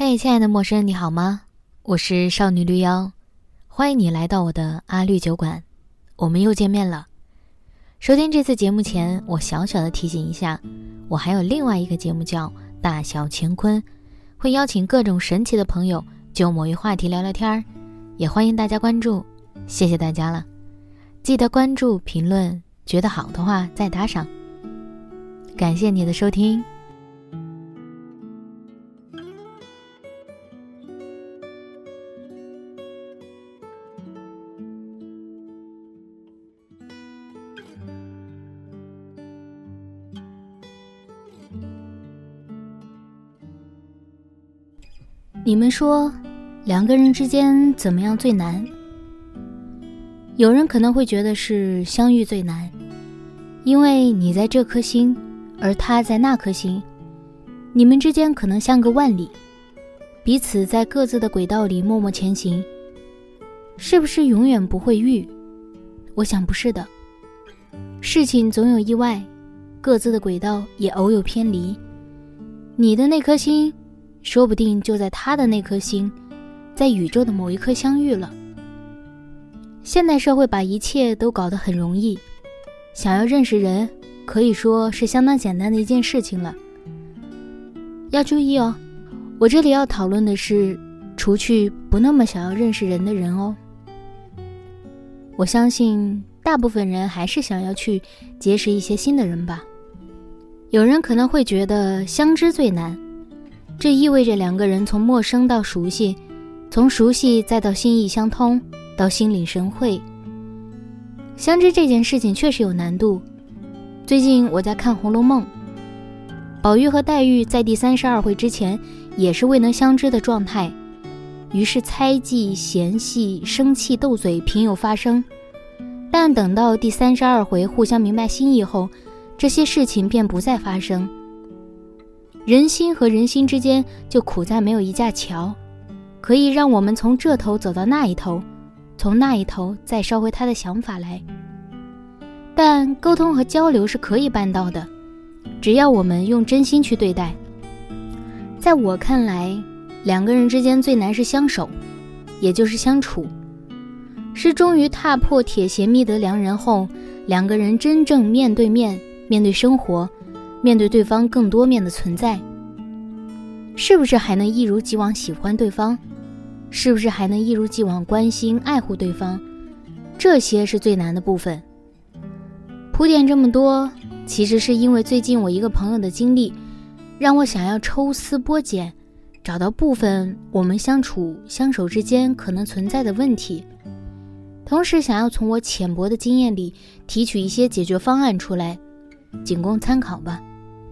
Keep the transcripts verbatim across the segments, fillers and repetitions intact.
嘿，亲爱的陌生人，你好吗？我是少女绿妖，欢迎你来到我的阿绿酒馆，我们又见面了。收听这次节目前，我小小的提醒一下，我还有另外一个节目叫大小乾坤，会邀请各种神奇的朋友就某一话题聊聊天，也欢迎大家关注，谢谢大家了。记得关注评论，觉得好的话再打赏。感谢你的收听。 你们说两个人之间怎么样最难？有人可能会觉得是相遇最难，因为你在这颗星，而他在那颗星，你们之间可能相隔万里，彼此在各自的轨道里默默前行，是不是永远不会遇？我想不是的，事情总有意外，各自的轨道也偶有偏离，你的那颗星说不定就在他的那颗星，在宇宙的某一颗相遇了。现代社会把一切都搞得很容易，想要认识人可以说是相当简单的一件事情了。要注意哦，我这里要讨论的是除去不那么想要认识人的人哦。我相信大部分人还是想要去结识一些新的人吧。有人可能会觉得相知最难，这意味着两个人从陌生到熟悉，从熟悉再到心意相通，到心领神会。相知这件事情确实有难度。最近我在看《红楼梦》，宝玉和黛玉在第三十二回之前也是未能相知的状态，于是猜忌、嫌隙、生气、斗嘴频有发生。但等到第三十二回互相明白心意后，这些事情便不再发生。人心和人心之间就苦在没有一架桥，可以让我们从这头走到那一头，从那一头再捎回他的想法来。但沟通和交流是可以办到的，只要我们用真心去对待。在我看来，两个人之间最难是相守，也就是相处，是终于踏破铁鞋觅得良人后，两个人真正面对面，面对生活，面对对方更多面的存在。是不是还能一如既往喜欢对方？是不是还能一如既往关心爱护对方？这些是最难的部分。铺垫这么多，其实是因为最近我一个朋友的经历，让我想要抽丝剥茧，找到部分我们相处相守之间可能存在的问题，同时想要从我浅薄的经验里提取一些解决方案出来，仅供参考吧。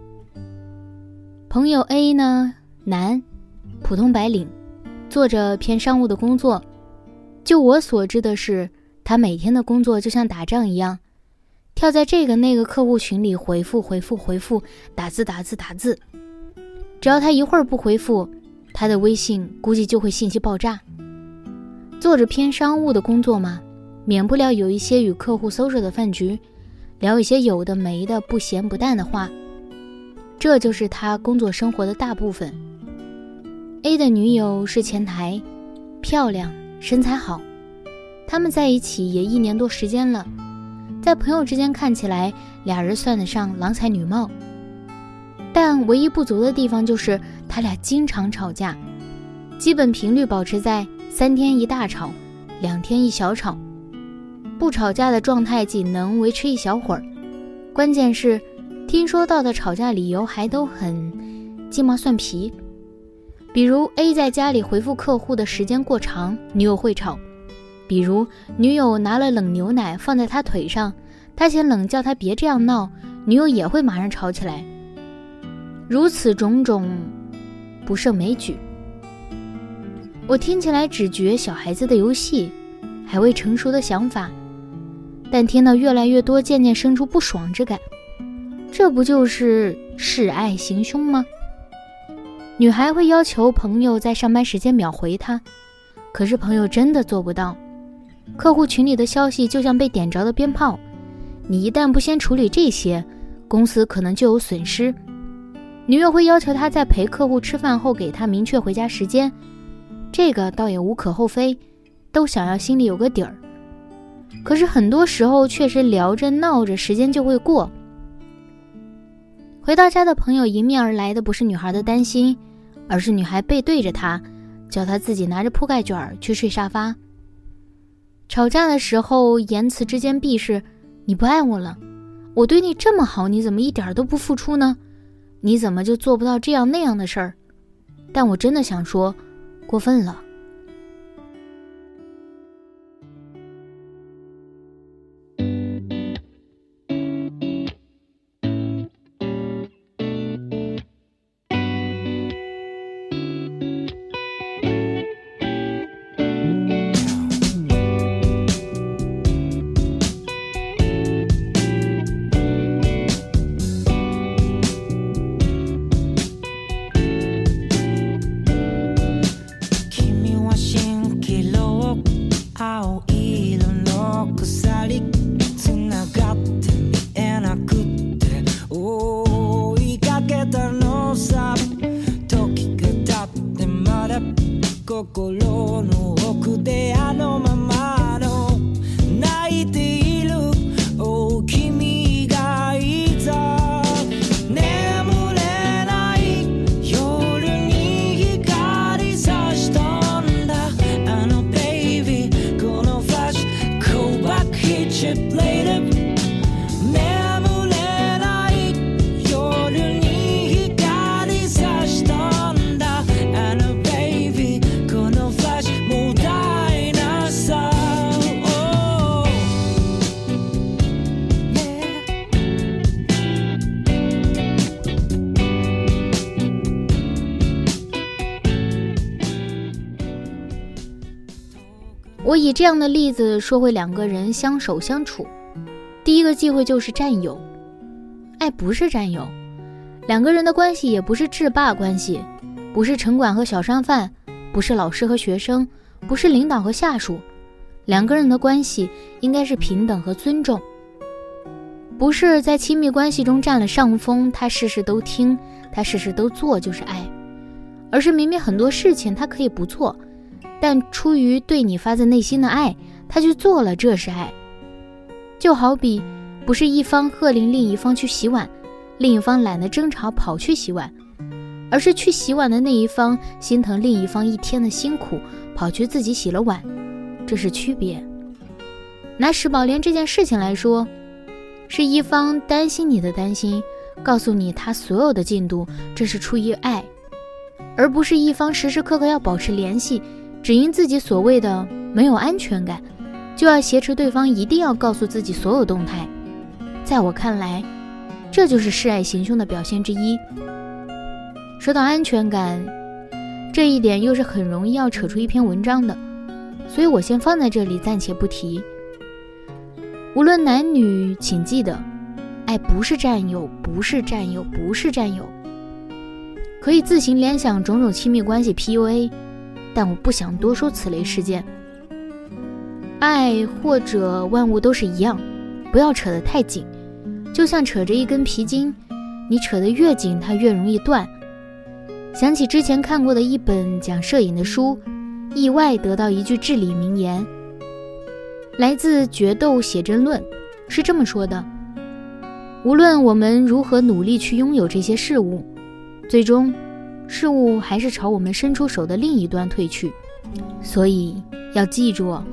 朋友 A 呢，男，普通白领，做着偏商务的工作。就我所知的是，他每天的工作就像打仗一样，跳在这个那个客户群里回复回复回复，打字打字打字。只要他一会儿不回复，他的微信估计就会信息爆炸。做着偏商务的工作嘛，免不了有一些与客户 social 的饭局，聊一些有的没的不咸不淡的话，这就是他工作生活的大部分。A 的女友是前台，漂亮，身材好，他们在一起也一年多时间了，在朋友之间看起来俩人算得上郎才女貌。但唯一不足的地方就是他俩经常吵架，基本频率保持在三天一大吵，两天一小吵。不吵架的状态仅能维持一小会儿，关键是听说到的吵架理由还都很鸡毛蒜皮。比如 A 在家里回复客户的时间过长，女友会吵；比如女友拿了冷牛奶放在他腿上，他嫌冷叫他别这样闹，女友也会马上吵起来。如此种种不胜枚举。我听起来只觉小孩子的游戏，还未成熟的想法，但听到越来越多，渐渐生出不爽之感。这不就是示爱行凶吗？女孩会要求朋友在上班时间秒回她，可是朋友真的做不到。客户群里的消息就像被点着的鞭炮，你一旦不先处理这些，公司可能就有损失。 女友会要求他在陪客户吃饭后给他明确回家时间，这个倒也无可厚非，都想要心里有个底儿。可是很多时候确实聊着闹着时间就会过。回到家的朋友迎面而来的不是女孩的担心，而是女孩背对着他，叫他自己拿着铺盖卷去睡沙发。吵架的时候言辞之间必是，你不爱我了，我对你这么好，你怎么一点都不付出呢？你怎么就做不到这样那样的事儿？但我真的想说，过分了。我以这样的例子说回两个人相守相处，第一个忌讳就是占有。爱不是占有，两个人的关系也不是制霸关系，不是城管和小商贩，不是老师和学生，不是领导和下属，两个人的关系应该是平等和尊重。不是在亲密关系中占了上风，他事事都听，他事事都做就是爱，而是明明很多事情他可以不做，但出于对你发自内心的爱，他去做了，这是爱。就好比不是一方喝令另一方去洗碗，另一方懒得争吵跑去洗碗，而是去洗碗的那一方心疼另一方一天的辛苦，跑去自己洗了碗，这是区别。拿石宝莲这件事情来说，是一方担心你的担心，告诉你他所有的进度，这是出于爱，而不是一方时时刻刻要保持联系，只因自己所谓的没有安全感，就要挟持对方一定要告诉自己所有动态。在我看来，这就是示爱行凶的表现之一。说到安全感，这一点又是很容易要扯出一篇文章的，所以我先放在这里暂且不提。无论男女，请记得，爱不是占有，不是占有，不是占有。可以自行联想种种亲密关系 P U A， 但我不想多说此类事件。爱或者万物都是一样，不要扯得太紧，就像扯着一根皮筋，你扯得越紧，它越容易断。想起之前看过的一本讲摄影的书，意外得到一句至理名言，来自《决斗写真论》，是这么说的：无论我们如何努力去拥有这些事物，最终事物还是朝我们伸出手的另一端退去。所以要记住哦。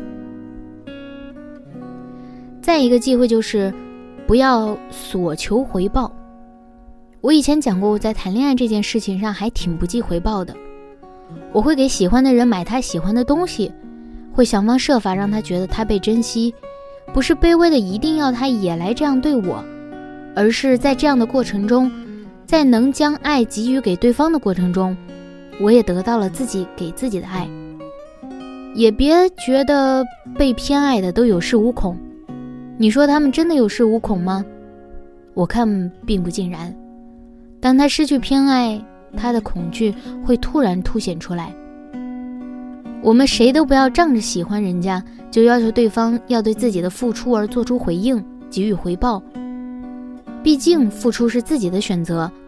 再一个忌讳就是不要索求回报。我以前讲过，我在谈恋爱这件事情上还挺不计回报的。我会给喜欢的人买他喜欢的东西，会想方设法让他觉得他被珍惜，不是卑微的一定要他也来这样对我，而是在这样的过程中，在能将爱给予给对方的过程中，我也得到了自己给自己的爱。也别觉得被偏爱的都有恃无恐，你说他们真的有恃无恐吗？我看并不尽然。当他失去偏爱，他的恐惧会突然凸显出来。我们谁都不要仗着喜欢人家，就要求对方要对自己的付出而做出回应，给予回报。毕竟付出是自己的选择，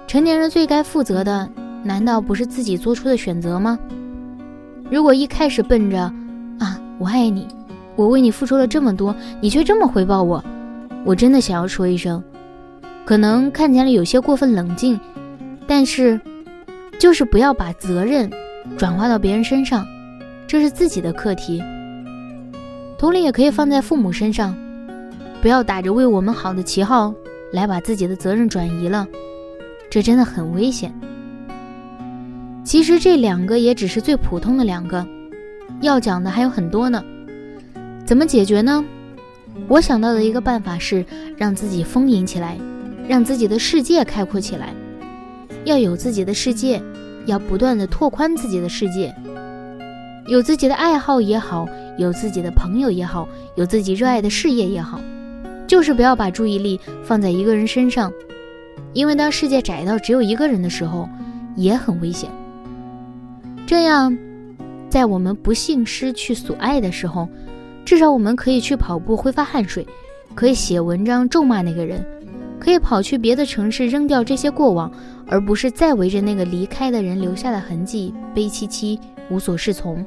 成年人最该负责的，难道不是自己做出的选择吗？如果一开始奔着啊，我爱你，我为你付出了这么多，你却这么回报我，我真的想要说一声，可能看起来有些过分冷静，但是就是不要把责任转化到别人身上，这是自己的课题。同理也可以放在父母身上，不要打着为我们好的旗号来把自己的责任转移了，这真的很危险。其实这两个也只是最普通的两个，要讲的还有很多呢。怎么解决呢？我想到的一个办法是让自己丰盈起来，让自己的世界开阔起来。要有自己的世界，要不断地拓宽自己的世界，有自己的爱好也好，有自己的朋友也好，有自己热爱的事业也好，就是不要把注意力放在一个人身上，因为当世界窄到只有一个人的时候，也很危险。这样，在我们不幸失去所爱的时候，至少我们可以去跑步挥发汗水，可以写文章咒骂那个人，可以跑去别的城市扔掉这些过往，而不是再围着那个离开的人留下的痕迹悲戚戚无所适从。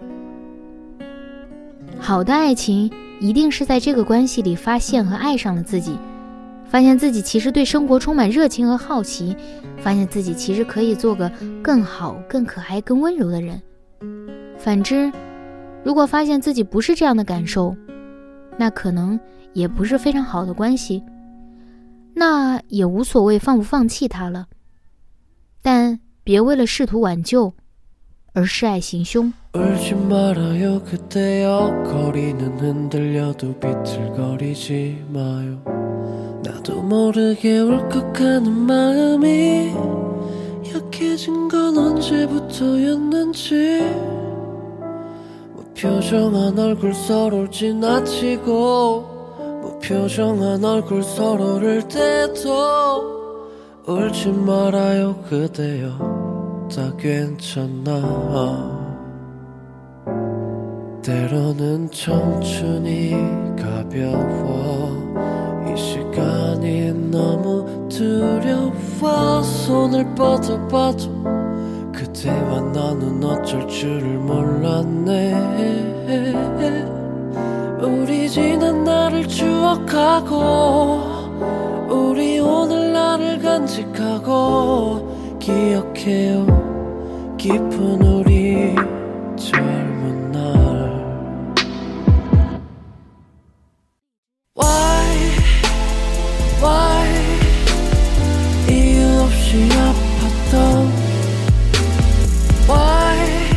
好的爱情一定是在这个关系里发现和爱上了自己，发现自己其实对生活充满热情和好奇，发现自己其实可以做个更好更可爱更温柔的人。反之，如果发现自己不是这样的感受，那可能也不是非常好的关系，那也无所谓放不放弃它了，但别为了试图挽救而示爱行凶。 울지 말아요 그대여 거리는 흔들려도 비틀거리지 마요 나도 모르게 울컥하는 마음이 약해진 건 언제부터였는지 무표정한 얼굴 서로를 지나치고 무표정한 얼굴 서로를 대도 울지 말아요 그대여 다 괜찮아 때로는 청춘이 가벼워 이 시간이 너무 두려워 손을 뻗어봐도 그대와 나는 어쩔 줄을 몰랐네 우리 지난 날을 추억하고 우리 오늘날을 간직하고 기억해요 깊은 우리 젊은 날 Why Why 이유 없이 아팠던 Why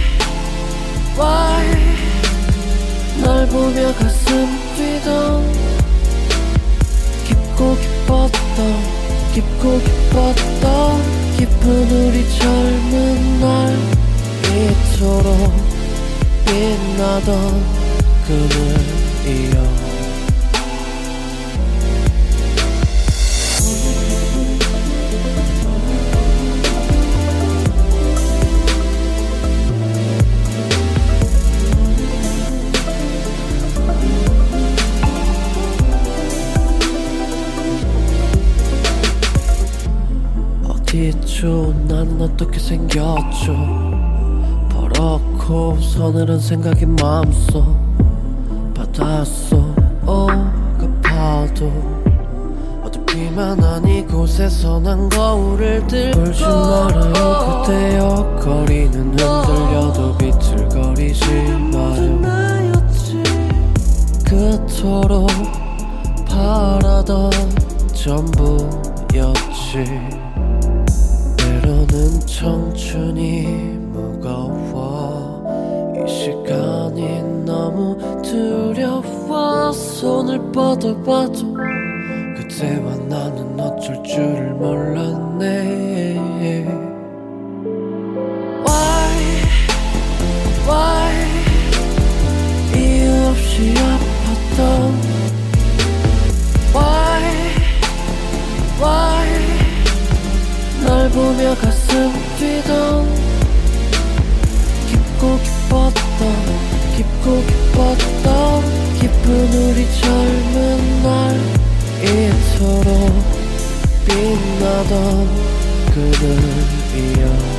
Why 날 보며 가슴 뛰던 깊고 깊었던 깊고 깊었던 깊은 우리 젊은 날 이토록 빛나던 그늘이여 어디죠 나는 어떻게 생겼죠 버럭고 서늘한 생각이 마음속 바닷속 오가파도 어둡기만 이곳에서 난 거울을 들고 울지 말아요 그대여 거리는 흔들려도 비틀거리지 마요 그토록 바라던 전부였지 때로는 청춘이 무거워 이 시간이 너무 두려워 손을 뻗어봐도 그대와 나는 어쩔 줄을 몰랐네 Why Why 이유 없이 아팠던 Why Why 날 보며 가슴 뛰던 깊고 깊었던 깊고 깊었던 깊은 우리 젊은 날 이토록 빛나던 可能一样。